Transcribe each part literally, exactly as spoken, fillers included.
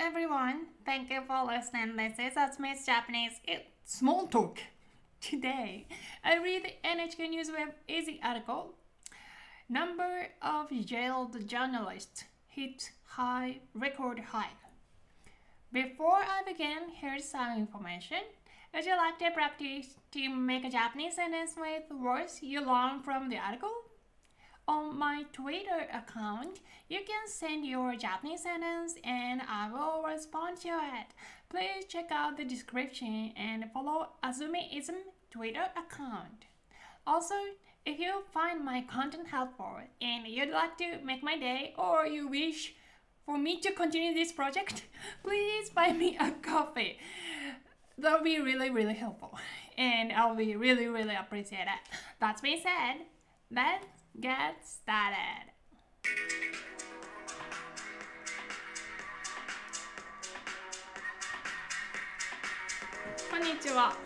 everyone. Thank you for listening. This is Atsumi's Japanese. It's small talk. Today, I read the N H K News Web Easy article. Number of jailed journalists hit high record high. Before I begin, here's some information. Would you like to practice to make a Japanese sentence with words you learn from the article? On my Twitter account, you can send your Japanese sentence and I will respond to it. Please check out the description and follow Azumiism Twitter account. Also, if you find my content helpful and you'd like to make my day or you wish for me to continue this project, please buy me a coffee. That'll be really, really helpful and I'll be really, really appreciate it. That being said, let's get started. こんにちは。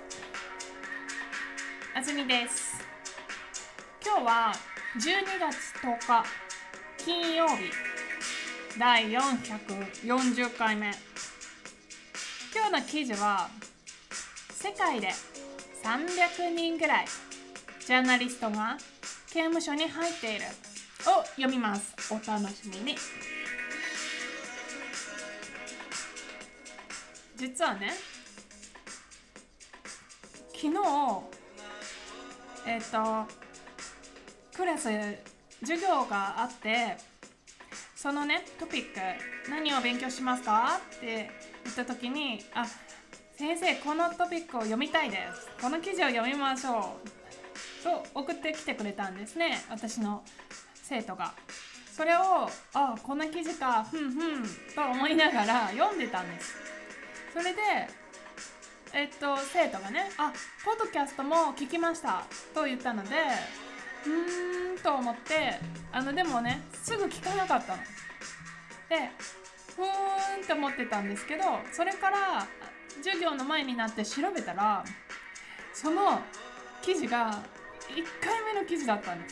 あずみです。今日はじゅうにがつとおか金曜日だいよんひゃくよんじゅっかいめ。今日の記事は世界でさんびゃくにんぐらいジャーナリストが刑務所に入っているを読みます。お楽しみに。実はね、昨日えっとクラス授業があって、そのねトピック何を勉強しますかって言った時に、あ、先生このトピックを読みたいです、この記事を読みましょうと送ってきてくれたんですね、私の生徒が。それを、あ、こんな記事か、ふんふんと思いながら読んでたんです。それで、えっと、生徒がね、あ、ポッドキャストも聞きましたと言ったので、うーんと思って、あの、でもね、すぐ聞かなかったの。で、ふーんって思ってたんですけど、それから授業の前になって調べたら、その記事がいっかいめの記事だったんです。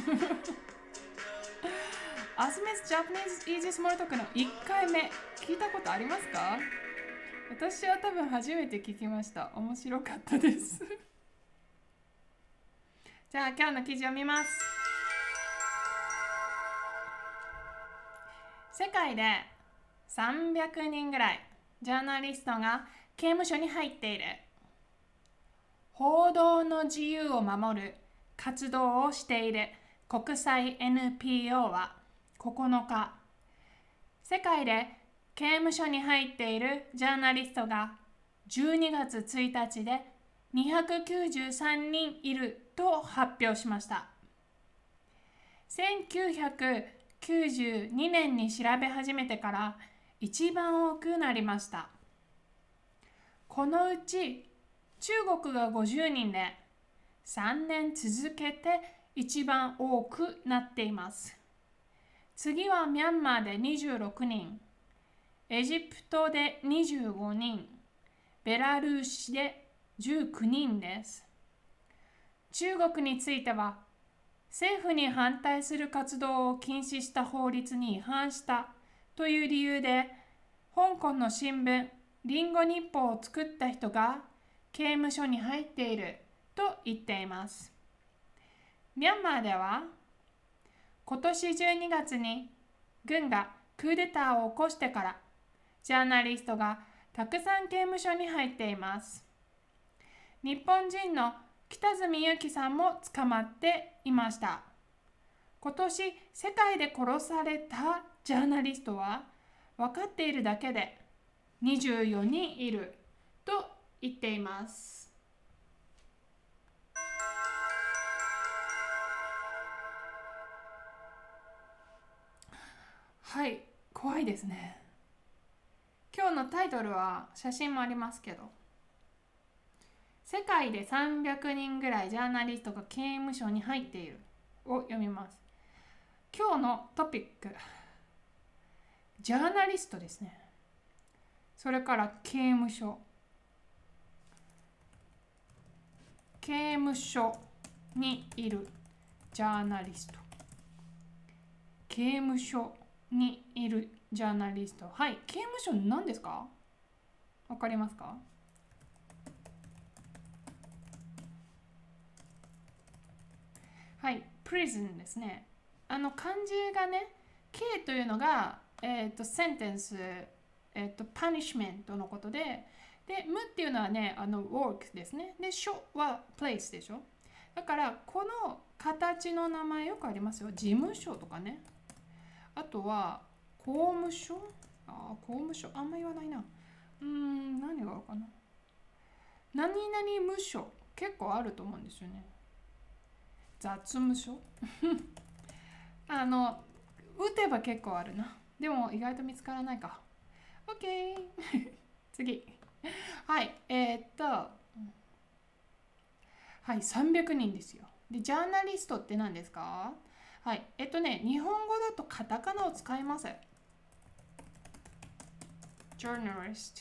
アスミス・ジャパニーズ・イージー・スモールトークのいっかいめ、聞いたことありますか？私は多分初めて聞きました。面白かったです。じゃあ今日の記事を見ます。世界でさんびゃくにんぐらいジャーナリストが刑務所に入っている。報道の自由を守る活動をしている国際 エヌピーオー はここのか、世界で刑務所に入っているジャーナリストがじゅうにがつついたちでにひゃくきゅうじゅうさんにんいると発表しました。せんきゅうひゃくきゅうじゅうにねんに調べ始めてから一番多くなりました。このうち中国がごじゅうにんでさんねん続けて一番多くなっています。次はミャンマーでにじゅうろくにん、エジプトでにじゅうごにん、ベラルーシでじゅうきゅうにんです。中国については政府に反対する活動を禁止した法律に違反したという理由で、香港の新聞リンゴ日報を作った人が刑務所に入っていると言っています。ミャンマーでは今年じゅうにがつに軍がクーデターを起こしてからジャーナリストがたくさん刑務所に入っています。日本人の北角由紀さんも捕まっていました。今年世界で殺されたジャーナリストは分かっているだけでにじゅうよにんいると言っています。はい、怖いですね。今日のタイトルは写真もありますけど、世界でさんびゃくにんぐらいジャーナリストが刑務所に入っているを読みます。今日のトピック、ジャーナリストですね。それから刑務所、刑務所にいるジャーナリスト、刑務所にいるジャーナリスト。はい、刑務所何ですか？わかりますか？はい、prison ですね。あの漢字がね、刑というのが、えっ、と、センテンス、えっ、と、パニッシュメントのことで、で、無っていうのはね、あの、work ですね。で、所は place でしょ。だから、この形の名前よくありますよ。事務所とかね。あとは、公務所ああ、公務所。あんま言わないな。うーん、何があるかな。何々無所。結構あると思うんですよね。雑務所あの、打てば結構あるな。でも意外と見つからないか。OK 次。はい、えー、っと、はい、さんびゃくにんですよ。で、ジャーナリストって何ですか？はい、えっとね、日本語だとカタカナを使います。journalist。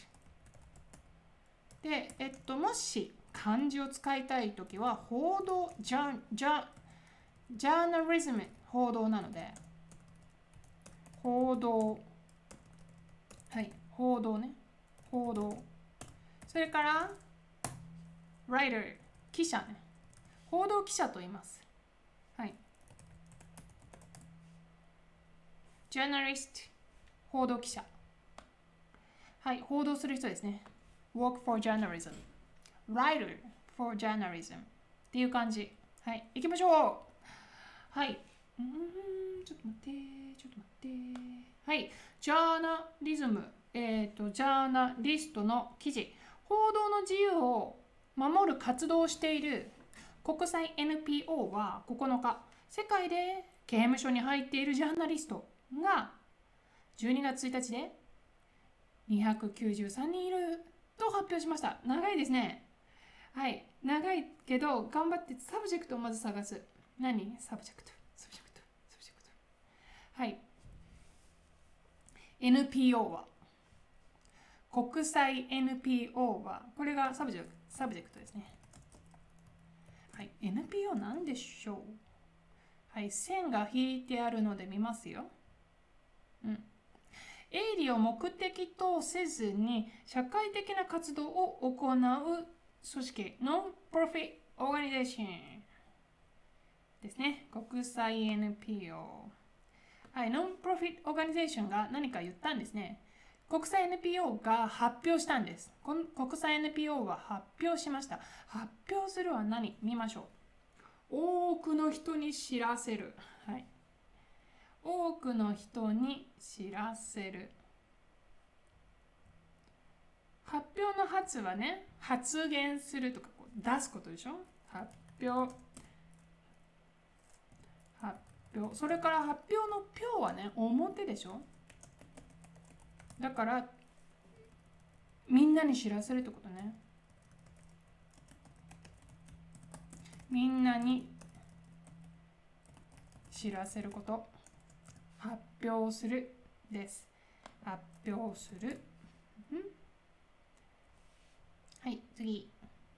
で、えっと、もし漢字を使いたいときは、報道、ジャジャジャーナリズム、報道なので、報道、はい、報道ね、報道。それから、writer、記者ね。報道記者と言います。はい。journalist、報道記者。はい、報道する人ですね。work for journalism。writer for journalism。っていう感じ。はい、行きましょう。はい。うーん、ちょっと待って、ちょっと待って。はい、ジャーナリズム。えっ、ー、と、ジャーナリストの記事。報道の自由を守る活動をしている国際 エヌピーオー はここのか、世界で刑務所に入っているジャーナリストがじゅうにがつついたちでにひゃくきゅうじゅうさんにんいると発表しました。長いですね。はい、長いけど頑張ってサブジェクトをまず探す。何？サブジェクト、サブジェクト、サブジェクト。はい。エヌピーオー は国際 エヌピーオー はこれがサブジェクト、サブジェクトですね。はい、エヌピーオー なんでしょう？はい、線が引いてあるので見ますよ。うん。営利を目的とせずに社会的な活動を行う組織、ノンプロフィットオーガニゼーションですね。国際 エヌピーオー。はい、ノンプロフィットオーガニゼーションが何か言ったんですね。国際 エヌピーオー が発表したんです。この国際 エヌピーオー は発表しました。発表するは何？見ましょう。多くの人に知らせる。はい。多くの人に知らせる。発表の発はね、発言するとかこう出すことでしょ。発表。発表。それから発表の表はね、表でしょ。だから、みんなに知らせるってことね。みんなに知らせること。発表するです。発表する。んはい、次。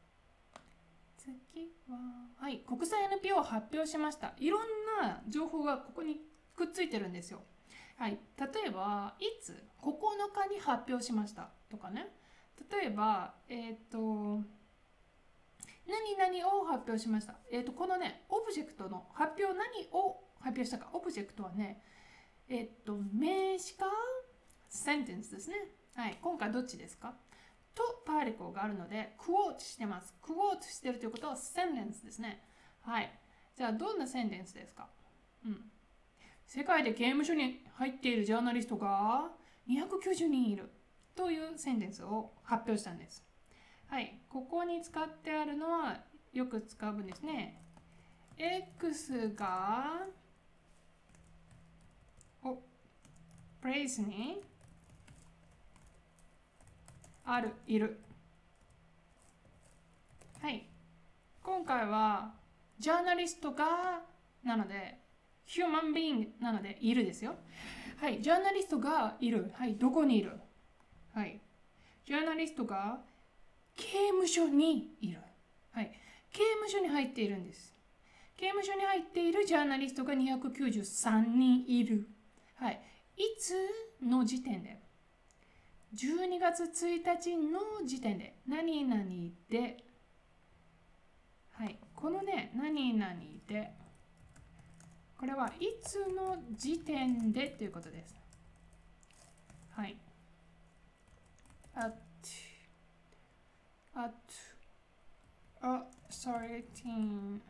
次は、はい、国際 エヌピーオー を発表しました。いろんな情報がここにくっついてるんですよ。はい、例えば、いつここのかに発表しましたとかね。例えば、えっ、ー、と、何々を発表しました。えっ、ー、と、このね、オブジェクトの発表、何を発表したか。オブジェクトはね、えっ、ー、と、名詞かセンテンスですね。はい、今回どっちですか？とパーリコがあるので、クォートしてます。クォートしてるということはセンテンスですね。はい。じゃあ、どんなセンテンスですか？うん。世界で刑務所に入っているジャーナリストがにひゃくきゅうじゅうにんいるというセンテンスを発表したんです。はい。ここに使ってあるのはよく使う文ですね。X が、お、プレイスにある、いる。はい。今回は、ジャーナリストが、なので、ヒューマンビーイングなので、いるですよ。はい。ジャーナリストがいる。はい。どこにいる？はい。ジャーナリストが刑務所にいる。はい。刑務所に入っているんです。刑務所に入っているジャーナリストがにひゃくきゅうじゅうさんにんいる。はい。いつの時点で、じゅうにがつついたちの時点で、何々で、はい、このね、何々で、これはいつの時点でということです。はい。at, at a certain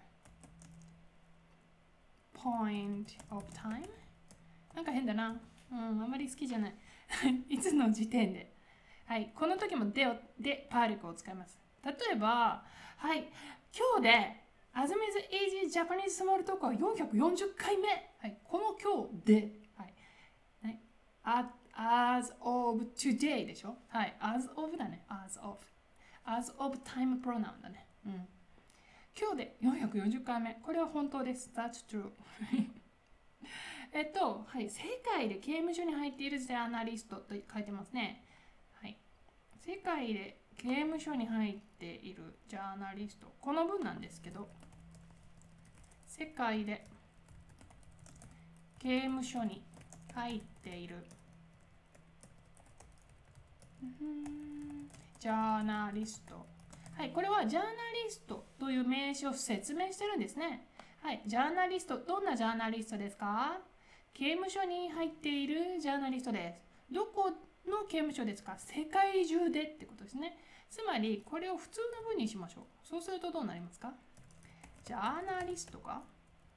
point of time なんか変だな。うん、あんまり好きじゃない。いつの時点で。はい、この時もでをでパーリクを使います。例えば、はい、今日で Azumi's Easy Japanese Small Talk はよんひゃくよんじゅっかいめ。はい、この今日で、はい、ね、as of today でしょ。はい、as of だね。as of。as of time pronoun だね。うん。今日でよんひゃくよんじゅっかいめ。これは本当です。That's true 。えっと、はい、世界で刑務所に入っているジャーナリストと書いてますね。はい。世界で刑務所に入っているジャーナリスト。この文なんですけど、世界で刑務所に入っているジャーナリスト。はい、これはジャーナリストという名詞を説明してるんですね。はい、ジャーナリスト、どんなジャーナリストですか？刑務所に入っているジャーナリストです。どこの刑務所ですか？世界中でってことですね。つまり、これを普通の文にしましょう。そうするとどうなりますか？ジャーナリストが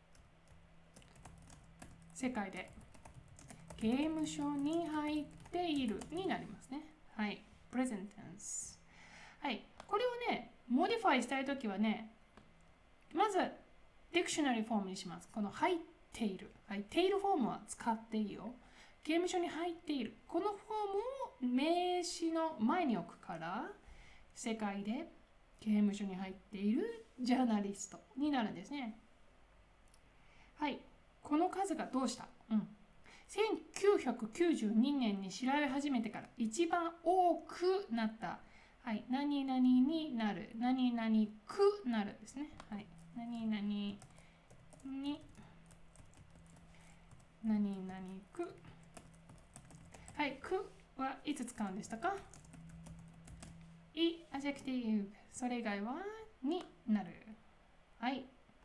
世界で刑務所に入っているになりますね。はい、present tense。はい、これをね、モディファイしたいときはね、まず、ディクショナリーフォームにします。この入っている。はい、テイルフォームは使っていいよ。刑務所に入っている。このフォームを名詞の前に置くから、世界で刑務所に入っているジャーナリストになるんですね。はい、この数がどうした？うん。せんきゅうひゃくきゅうじゅうにねんに調べ始めてから一番多くなった。はい、何々になる。何々くなるですね。はい、何々に何々く。はい、くはいつ使うんでしたか？い、アジェクティブ。それ以外はになる。はい。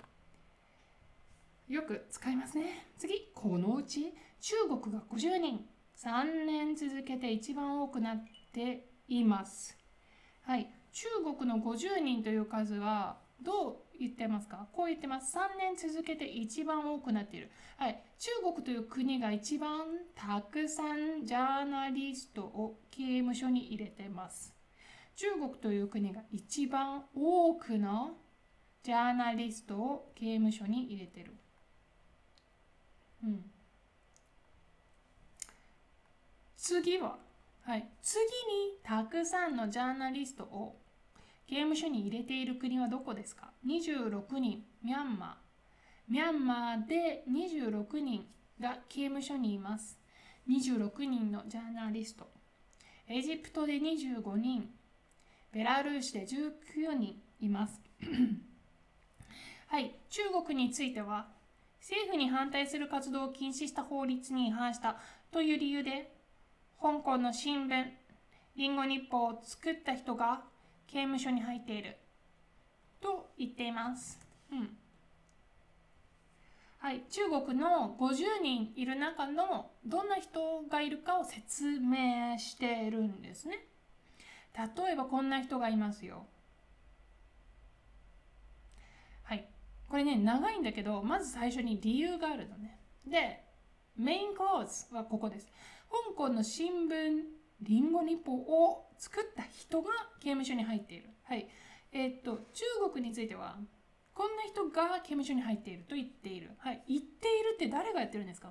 よく使いますね。次、このうち中国がごじゅうにん、さんねん続けて一番多くなっています。はい、中国のごじゅうにんという数はどう言ってますか？こう言ってます。さんねん続けて一番多くなっている。はい、中国という国が一番たくさんジャーナリストを刑務所に入れています。中国という国が一番多くのジャーナリストを刑務所に入れている。うん、次は、はい、次にたくさんのジャーナリストを刑務所に入れている国はどこですか？にじゅうろくにん、ミャンマー。ミャンマーでにじゅうろくにんが刑務所にいます。にじゅうろくにんのジャーナリスト。エジプトでにじゅうごにん、ベラルーシでじゅうきゅうにんいます。はい、中国については、政府に反対する活動を禁止した法律に違反したという理由で、香港の新聞、リンゴ日報を作った人が刑務所に入っていると言っています。うん。はい、中国のごじゅうにんいる中のどんな人がいるかを説明しているんですね。例えばこんな人がいますよ。はい、これね、長いんだけど、まず最初に理由があるのね。で、メインクローズはここです。香港の新聞、リンゴ日報を作った人が刑務所に入っている。はい。えー、っと、中国については、こんな人が刑務所に入っていると言っている。はい。言っているって誰がやってるんですか？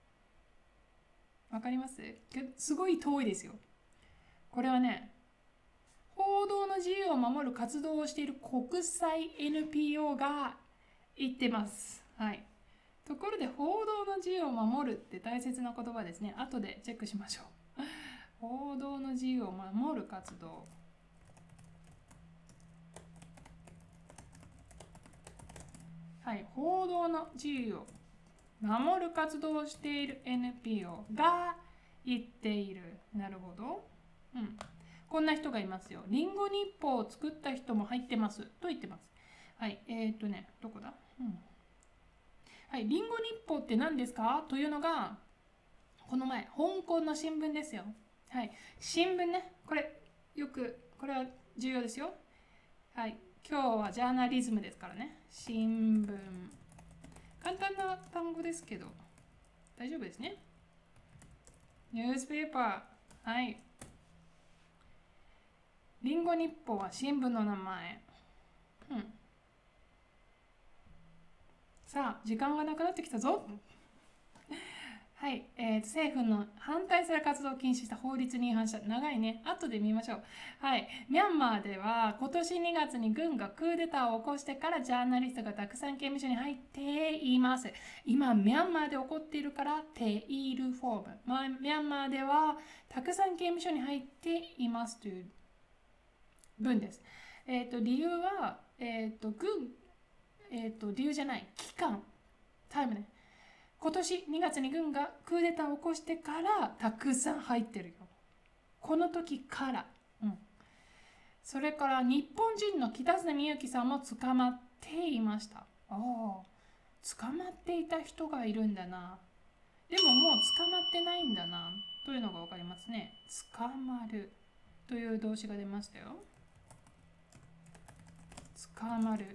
わかります？すごい遠いですよ。これはね、報道の自由を守る活動をしている国際 エヌピーオー が言ってます。はい。ところで、報道の自由を守るって大切な言葉ですね。後でチェックしましょう。報道の自由を守る活動。はい、報道の自由を守る活動をしている エヌピーオー が言っている。なるほど。うん。こんな人がいますよ。リンゴ日報を作った人も入ってますと言ってます。はい。えー、っとね、どこだ、うん、はい。リンゴ日報って何ですかというのが、この前、香港の新聞ですよ。はい。新聞ね。これ、よく、これは重要ですよ。はい。今日はジャーナリズムですからね。新聞。簡単な単語ですけど、大丈夫ですね。ニュースペーパー。はい。リンゴ日報は新聞の名前。うん。さあ、時間がなくなってきたぞ。はい、えー、政府の反対する活動を禁止した法律に違反した。長いね。後で見ましょう。はい。ミャンマーでは今年にがつに軍がクーデターを起こしてからジャーナリストがたくさん刑務所に入っています。今、ミャンマーで起こっているからテイルフォーム。まあ、ミャンマーではたくさん刑務所に入っていますという文です。えっ、ー、と、理由は、えっ、ー、と、軍、えっ、ー、と、理由じゃない。期間。タイムね。今年にがつに軍がクーデターを起こしてからたくさん入ってるよ。この時から。うん。それから日本人の北角みゆきさんも捕まっていました。ああ、捕まっていた人がいるんだな。でももう捕まってないんだな。というのがわかりますね。捕まるという動詞が出ましたよ。捕まる。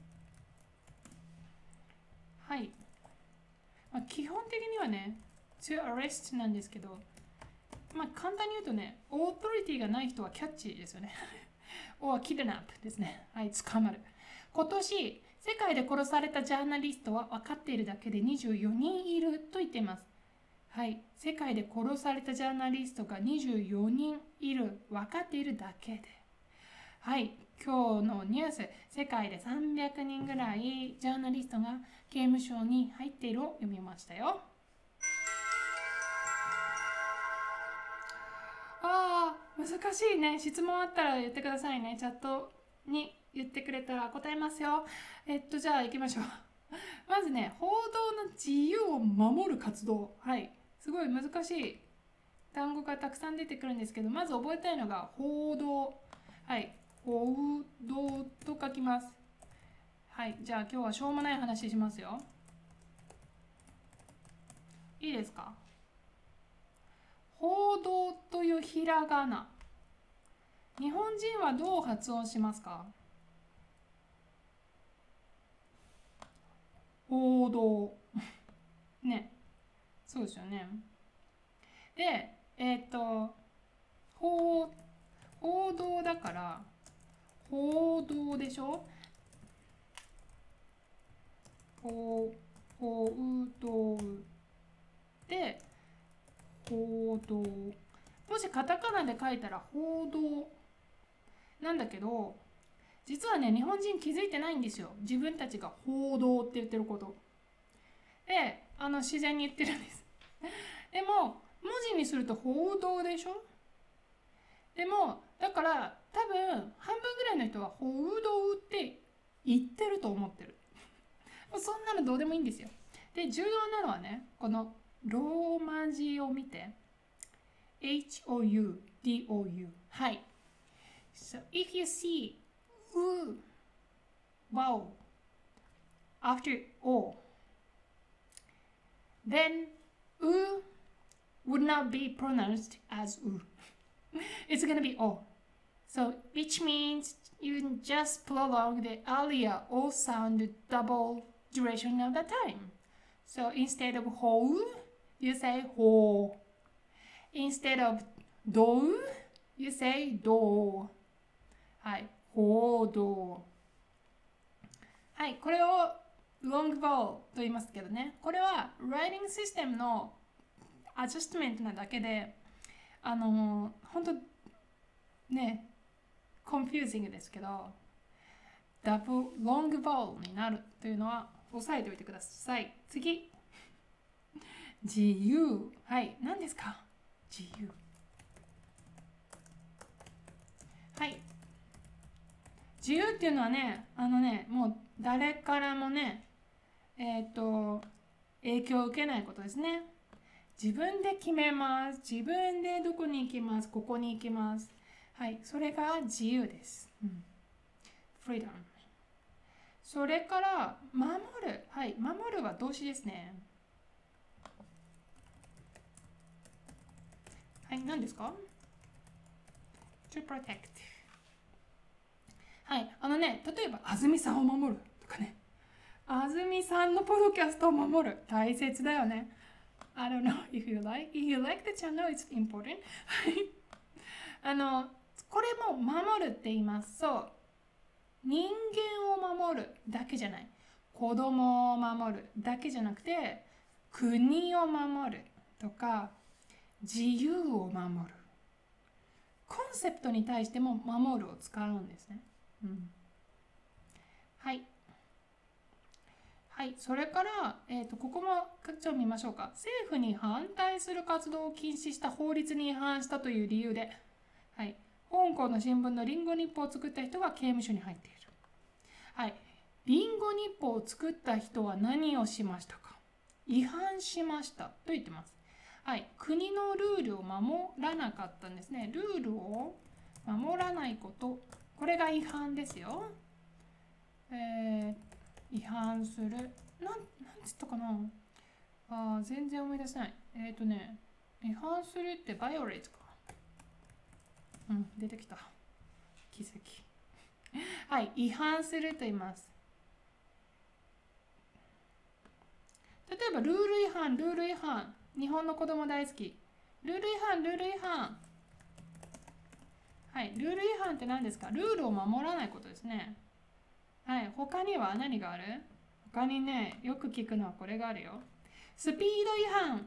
はい。まあ、基本的にはね、to arrest なんですけど、まあ、簡単に言うとね、オートリティがない人はキャッチですよね。or kidnap ですね。はい、捕まる。今年、世界で殺されたジャーナリストは分かっているだけでにじゅうよにんいると言っています。はい、世界で殺されたジャーナリストがにじゅうよにんいる。分かっているだけで。はい、今日のニュース、世界でさんびゃくにんぐらいジャーナリストが刑務所に入っているを読みましたよ。ああ、難しいね。質問あったら言ってくださいね。チャットに言ってくれたら答えますよ。えっと、じゃあ行きましょう。まずね、報道の自由を守る活動。はい。すごい難しい単語がたくさん出てくるんですけど、まず覚えたいのが報道。はい。報道と書きます。はい。じゃあ今日はしょうもない話しますよ。いいですか？報道というひらがな。日本人はどう発音しますか？報道。ね。そうですよね。で、えっ、ー、と、報、報道だから、報道でしょ？報、報道で、報道。もしカタカナで書いたら報道なんだけど、実はね、日本人気づいてないんですよ。自分たちが報道って言ってること。で、あの自然に言ってるんです。でも、文字にすると報道でしょ？でも、だから多分半分ぐらいの人は報道って言ってると思ってる。そんなのどうでもいいんですよ。で、重要なのはね、このローマ字を見て。エイチオーユーディーオーユー はい。So if you see u vowel after o, then u would not be pronounced as u. It's gonna be o. So which means you just prolong the earlier o sound double duration of the time. So instead of ho, you say ho. Instead of do, you say do. はい、報道。はい、これを long vowel と言いますけどね。これは writing system の adjustment なだけで、あのー、本当ね、confusing ですけど、double long vowel になるというのは押さえておいてください。次。自由。はい、何ですか？自由。はい。自由っていうのはね、あのね、もう誰からもね、えっと、 影響を受けないことですね。自分で決めます。自分でどこに行きます。ここに行きます。はい、それが自由です。うん、freedom。それから守る。はい、守るは動詞ですね。はい、何ですか？ to protect。はい、あのね、例えば、安住さんを守るとかね。安住さんのポッドキャストを守る。大切だよね。I don't know if you like. If you like the channel, it's important. あの、これも守るって言います。そう。人間を守るだけじゃない。子供を守るだけじゃなくて、国を守るとか、自由を守る。コンセプトに対しても守るを使うんですね。うん、はい。はい、それから、えーと、ここもちょっと見ましょうか。政府に反対する活動を禁止した法律に違反したという理由で、はい、香港の新聞のリンゴ日報を作った人が刑務所に入っている。はい、リンゴ日報を作った人は何をしましたか？違反しましたと言ってます。はい、国のルールを守らなかったんですね。ルールを守らないこと、これが違反ですよ。えー、違反する。なん、なんつったかなあー、全然思い出せない。えっ、ー、とね、違反するってバイオレートか。うん、出てきた。奇跡。はい、違反すると言います。例えば、ルール違反、ルール違反。日本の子供大好き。ルール違反、ルール違反。はい、ルール違反って何ですか？ルールを守らないことですね。はい、他には何がある？他にね、よく聞くのはこれがあるよ。スピード違反。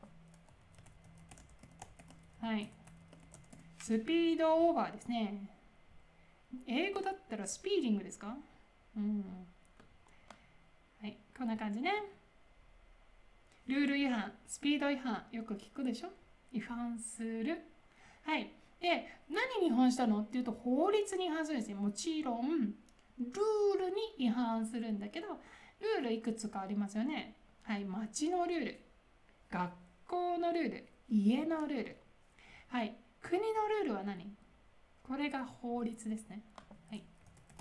はい。スピードオーバーですね。英語だったらスピーディングですか？うん。はい、こんな感じね。ルール違反、スピード違反、よく聞くでしょ？違反する。はい。で、何に違反したのっていうと、法律に違反するんですね。もちろん、ルールに違反するんだけど、ルールいくつかありますよね。はい、町のルール、学校のルール、家のルール。はい、国のルールは何？これが法律ですね。はい。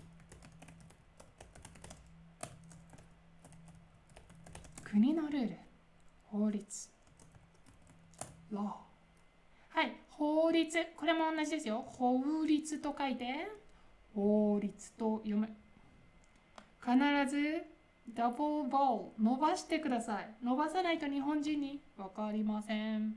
国のルール、法律、law。はい、法律、これも同じですよ。法律と書いて、法律と読む。必ずダブルボール伸ばしてください。伸ばさないと日本人に分かりません。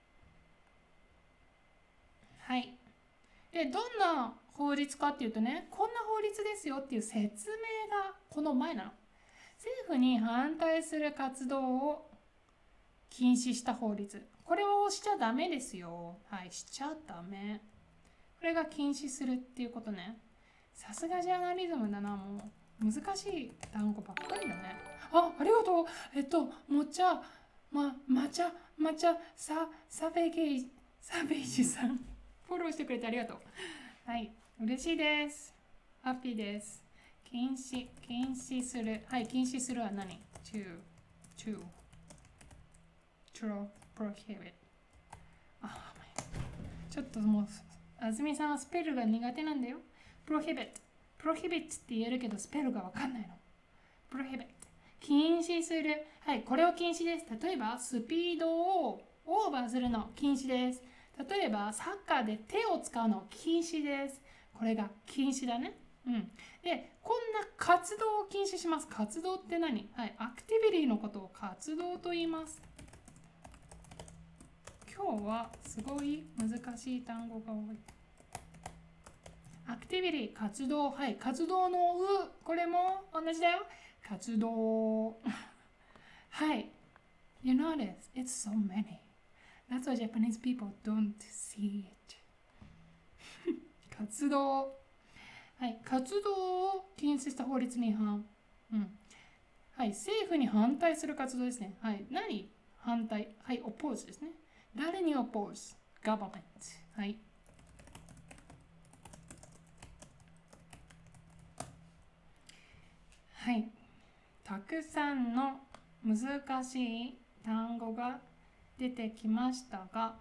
はい。で、どんな法律かっていうとね、こんな法律ですよっていう説明がこの前なの。政府に反対する活動を禁止した法律。これをしちゃダメですよ。はい、しちゃダメ。これが禁止するっていうことね。さすがジャーナリズムだな、もう。難しい単語ばっかりだね。あ、ありがとう。えっと、もちゃ、ま、まちゃ、まちゃ、さ、サベゲイ、サベイジさん。フォローしてくれてありがとう。はい、嬉しいです。ハッピーです。禁止、禁止する。はい、禁止するは何？ to, to, to prohibit。あ、ちょっともう、あずみさんはスペルが苦手なんだよ。prohibit。prohibit って言えるけど、スペルがわかんないの。prohibit。禁止する。はい、これを禁止です。例えば、スピードをオーバーするの禁止です。例えば、サッカーで手を使うの禁止です。これが禁止だね。うん。で、こんな活動を禁止します。活動って何？はい、アクティビティのことを活動と言います。今日はすごい難しい単語が多い。アクティビティ、活動。はい、活動のう、これも同じだよ。活動。はい。You notice, it's so many. That's why Japanese people don't see it. 活動。はい、活動を禁止した法律に違反。うん。はい、政府に反対する活動ですね。はい、何？反対。はい、oppose ですね。誰に oppose？ government。はい。はい。たくさんの難しい単語が出てきましたが、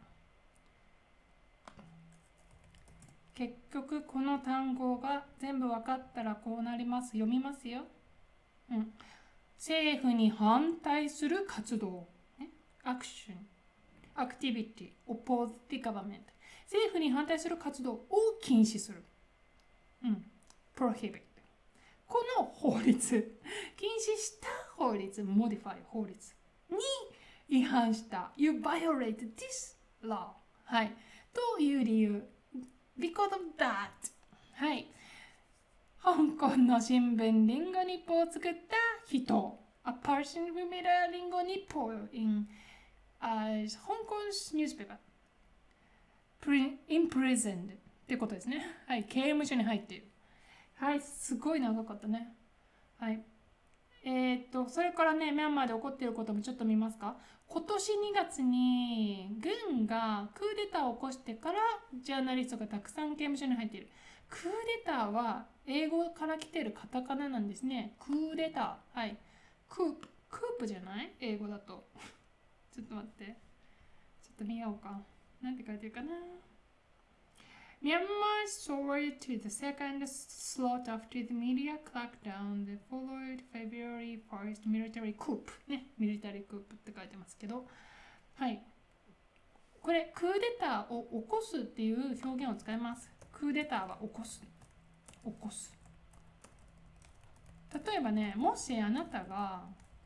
結局この単語が全部分かったらこうなります。読みますよ。うん、政府に反対する活動、ね、アクション、アクティビティ、oppose the government。政府に反対する活動を禁止する。うん、prohibit。この法律、禁止した法律、modify 法律に違反した。You violate this law。はい。という理由。Because of that。はい。香港の新聞リンゴ日報を作った人。A person who made a リンゴ日報 in a Hong Kong's newspaper. Imprisoned ってことですね。はい。刑務所に入っている。はい。すごい長かったね。はい。えー、っと、それからね、ミャンマーで起こっていることもちょっと見ますか。今年にがつに軍がクーデターを起こしてからジャーナリストがたくさん刑務所に入っている。クーデターは英語から来ているカタカナなんですね。クーデター。はい。クープ、クープじゃない英語だと。ちょっと待って。ちょっと見ようか。なんて書いてるかな。Myanmar soared to the second slot after the media crackdown that followed February first military coup ね、ミリタリークープって書いてますけど、はい。これ、クーデターを起こすっていう表現を使います。クーデターは起こす。起こす。例えばね、もしあなたが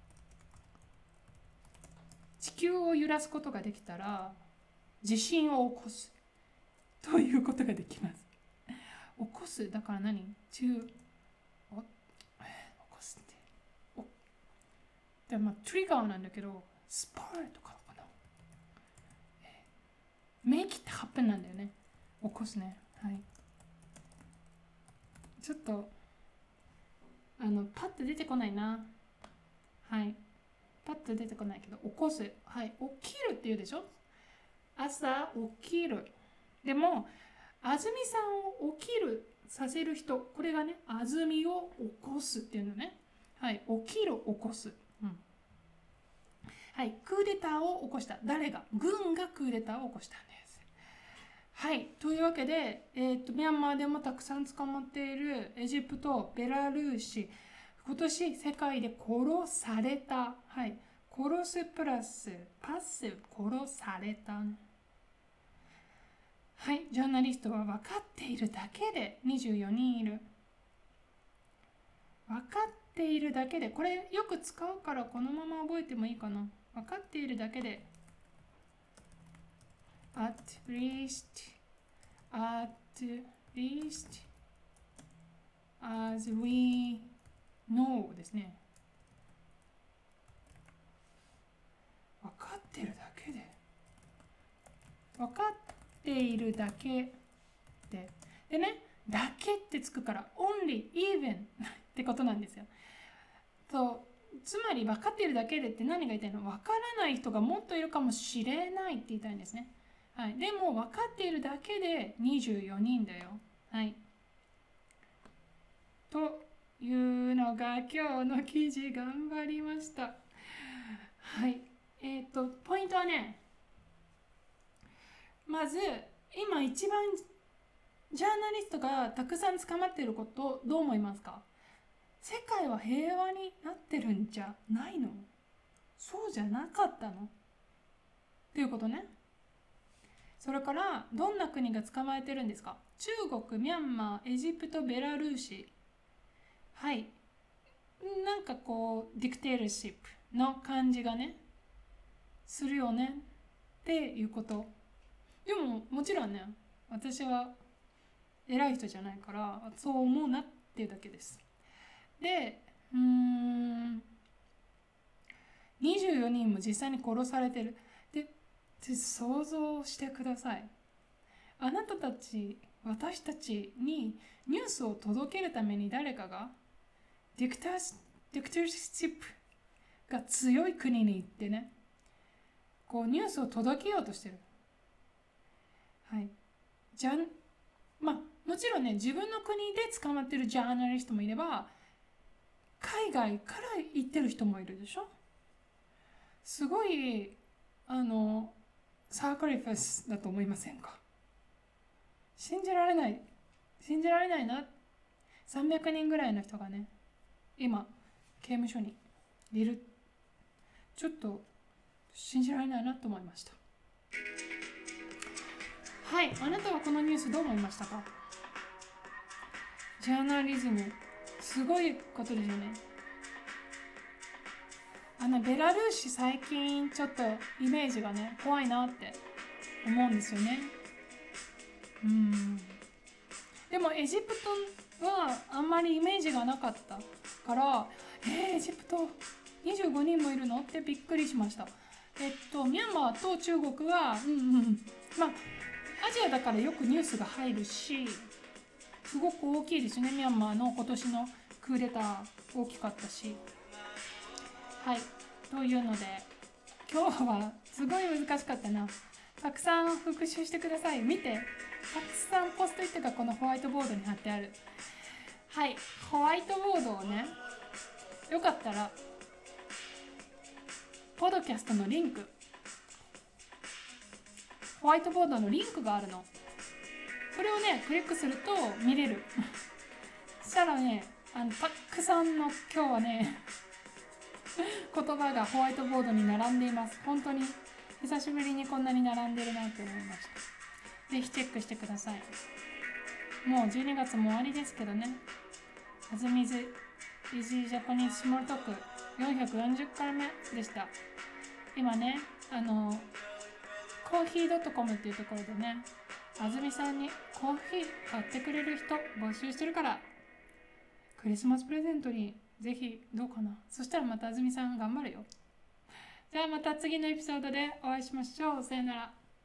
地球を揺らすことができたら、地震を起こす。ということができます。起こす、だから何 to お起こすって。おでまあ、トリガーなんだけど、スパーとかかな。make it happen なんだよね。起こすね。はい。ちょっと、あの、パッと出てこないな。はい。パッと出てこないけど、起こす。はい。起きるって言うでしょ。朝起きる。でも、安住さんを起きるさせる人、これがね、安住を起こすっていうのね。はい、起きる、起こす。うん。はい、クーデターを起こした。誰が？軍がクーデターを起こしたんです。はい、というわけで、えーと、ミャンマーでもたくさん捕まっているエジプト、ベラルーシ、今年世界で殺された。はい、殺すプラスパッシブ、殺された。はい、ジャーナリストは分かっているだけでにじゅうよにんいる。分かっているだけで、これよく使うからこのまま覚えてもいいかな。分かっているだけで。at least, at least, as we know ですね。分かっているだけで。分かっているだけで。でね、だけってつくから、only, even ってことなんですよ。とつまり分かっているだけでって何が言いたいの？分からない人がもっといるかもしれないって言いたいんですね。はい、でも分かっているだけでにじゅうよにんだよ。はい。というのが今日の記事、頑張りました。はい。えっと、ポイントはね、まず今一番ジャーナリストがたくさん捕まっていることをどう思いますか？世界は平和になってるんじゃないの？そうじゃなかったの？っていうことね。それからどんな国が捕まえてるんですか？中国、ミャンマー、エジプト、ベラルーシ。はい。なんかこうディクテールシップの感じがねするよねっていうこと。でももちろんね、私は偉い人じゃないからそう思うなっていうだけです。で、うーんにじゅうよにんも実際に殺されてる。で、想像してください。あなたたち、私たちにニュースを届けるために誰かがディクターディクターシップが強い国に行ってね、こうニュースを届けようとしてる。はい。じゃん、まあもちろんね、自分の国で捕まってるジャーナリストもいれば、海外から行ってる人もいるでしょ。 すごいあのサークリファスだと思いませんか？信じられない信じられないな。さんびゃくにんぐらいの人がね今刑務所にいる。ちょっと信じられないなと思いました。はい、あなたはこのニュースどう思いましたか？ジャーナリズムすごいことですよね。あのベラルーシ最近ちょっとイメージがね怖いなって思うんですよね。うんでもエジプトはあんまりイメージがなかったからえー、エジプトにじゅうごにんもいるのってびっくりしました。えっとミャンマーと中国はうんうんまあアジアだからよくニュースが入るしすごく大きいですね。ミャンマーの今年のクーデター大きかったし。はいというので今日はすごい難しかったな。たくさん復習してください。見てたくさんポストイットがこのホワイトボードに貼ってある。はいホワイトボードをねよかったらポッドキャストのリンクホワイトボードのリンクがあるの。それをねクリックすると見れるそしたらねあのたくさんの今日はね言葉がホワイトボードに並んでいます。本当に久しぶりにこんなに並んでるなと思いました。ぜひチェックしてください。もうじゅうにがつも終わりですけどね。あずみず Easy Japanese Small Talk よんひゃくよんじゅっかいめでした。今ねあのコーヒー .com っていうところでねあずみさんにコーヒー買ってくれる人募集してるからクリスマスプレゼントにぜひどうかな。そしたらまたあずみさん頑張るよ。じゃあまた次のエピソードでお会いしましょう。さよなら。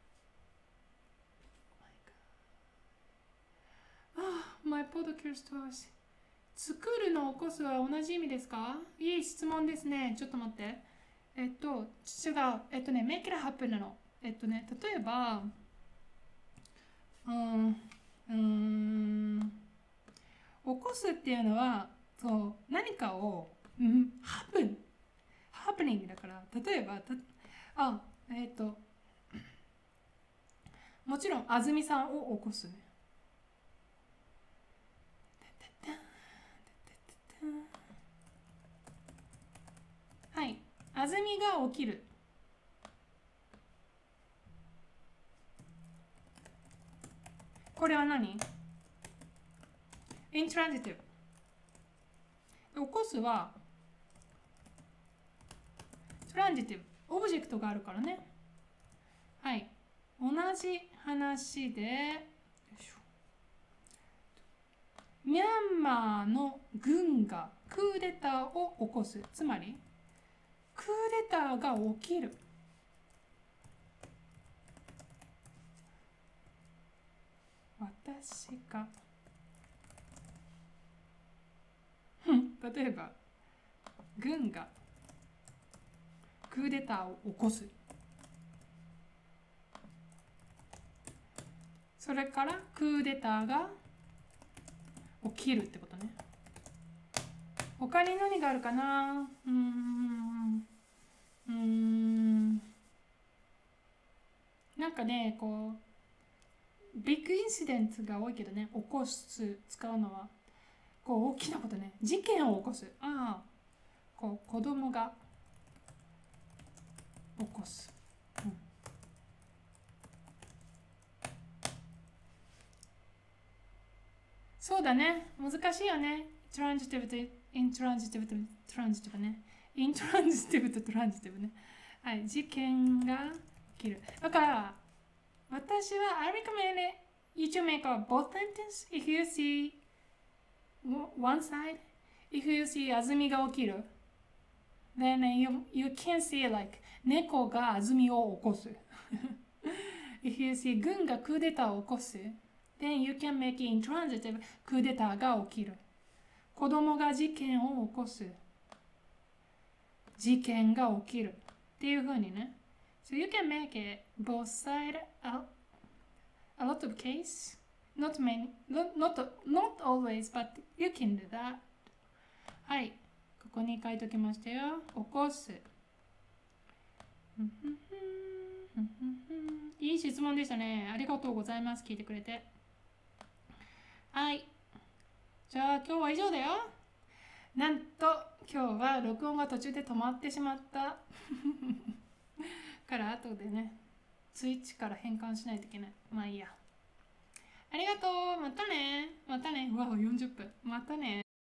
ああ、My podcast was 作るの起こすは同じ意味ですか？いい質問ですね。ちょっと待って。えっと、違う。えっとね、make it happen なの。えっとね、例えば、うん、うーん、起こすっていうのは、そう何かを、うん、ハプンハプニングだから例えばたあえっ、ー、ともちろんあずみさんを起こすね。はいあずみが起きる。これは何？イントランジティブ。起こすはトランジティブ。オブジェクトがあるからね。はい同じ話でミャンマーの軍がクーデターを起こす。つまりクーデターが起きる。私が例えば軍がクーデターを起こす。それからクーデターが起きるってことね。他に何があるかな。うーんうーんなんかねこうビッグインシデントが多いけどね起こす使うのはこう大きなことね。事件を起こす。ああこう子供が起こす、うん、そうだね難しいよね。トランジティブとイントランジティブとトランジティブね。イントランジティブとトランジティブね。はい事件が起きる。だから私は I recommend you to make a both sentence if you see one side. If you see あずみが起きる then you, you can see like 猫があずみを起こすIf you see 軍がクーデターを起こす then you can make intransitive クーデターが起きる。子供が事件を起こす。事件が起きるっていう風にね。So you can make it both side a, a lot of case not many not, not, not always but you can do that。 はいここに書いときましたよ。起こすいい質問でしたね。ありがとうございます。聞いてくれて。はい。じゃあ今日は以上だよ。なんと今日は録音が途中で止まってしまったから後でね、スイッチから変換しないといけない。まあいいや。ありがとう。またね。またね。うわ、よんじゅっぷん。またね。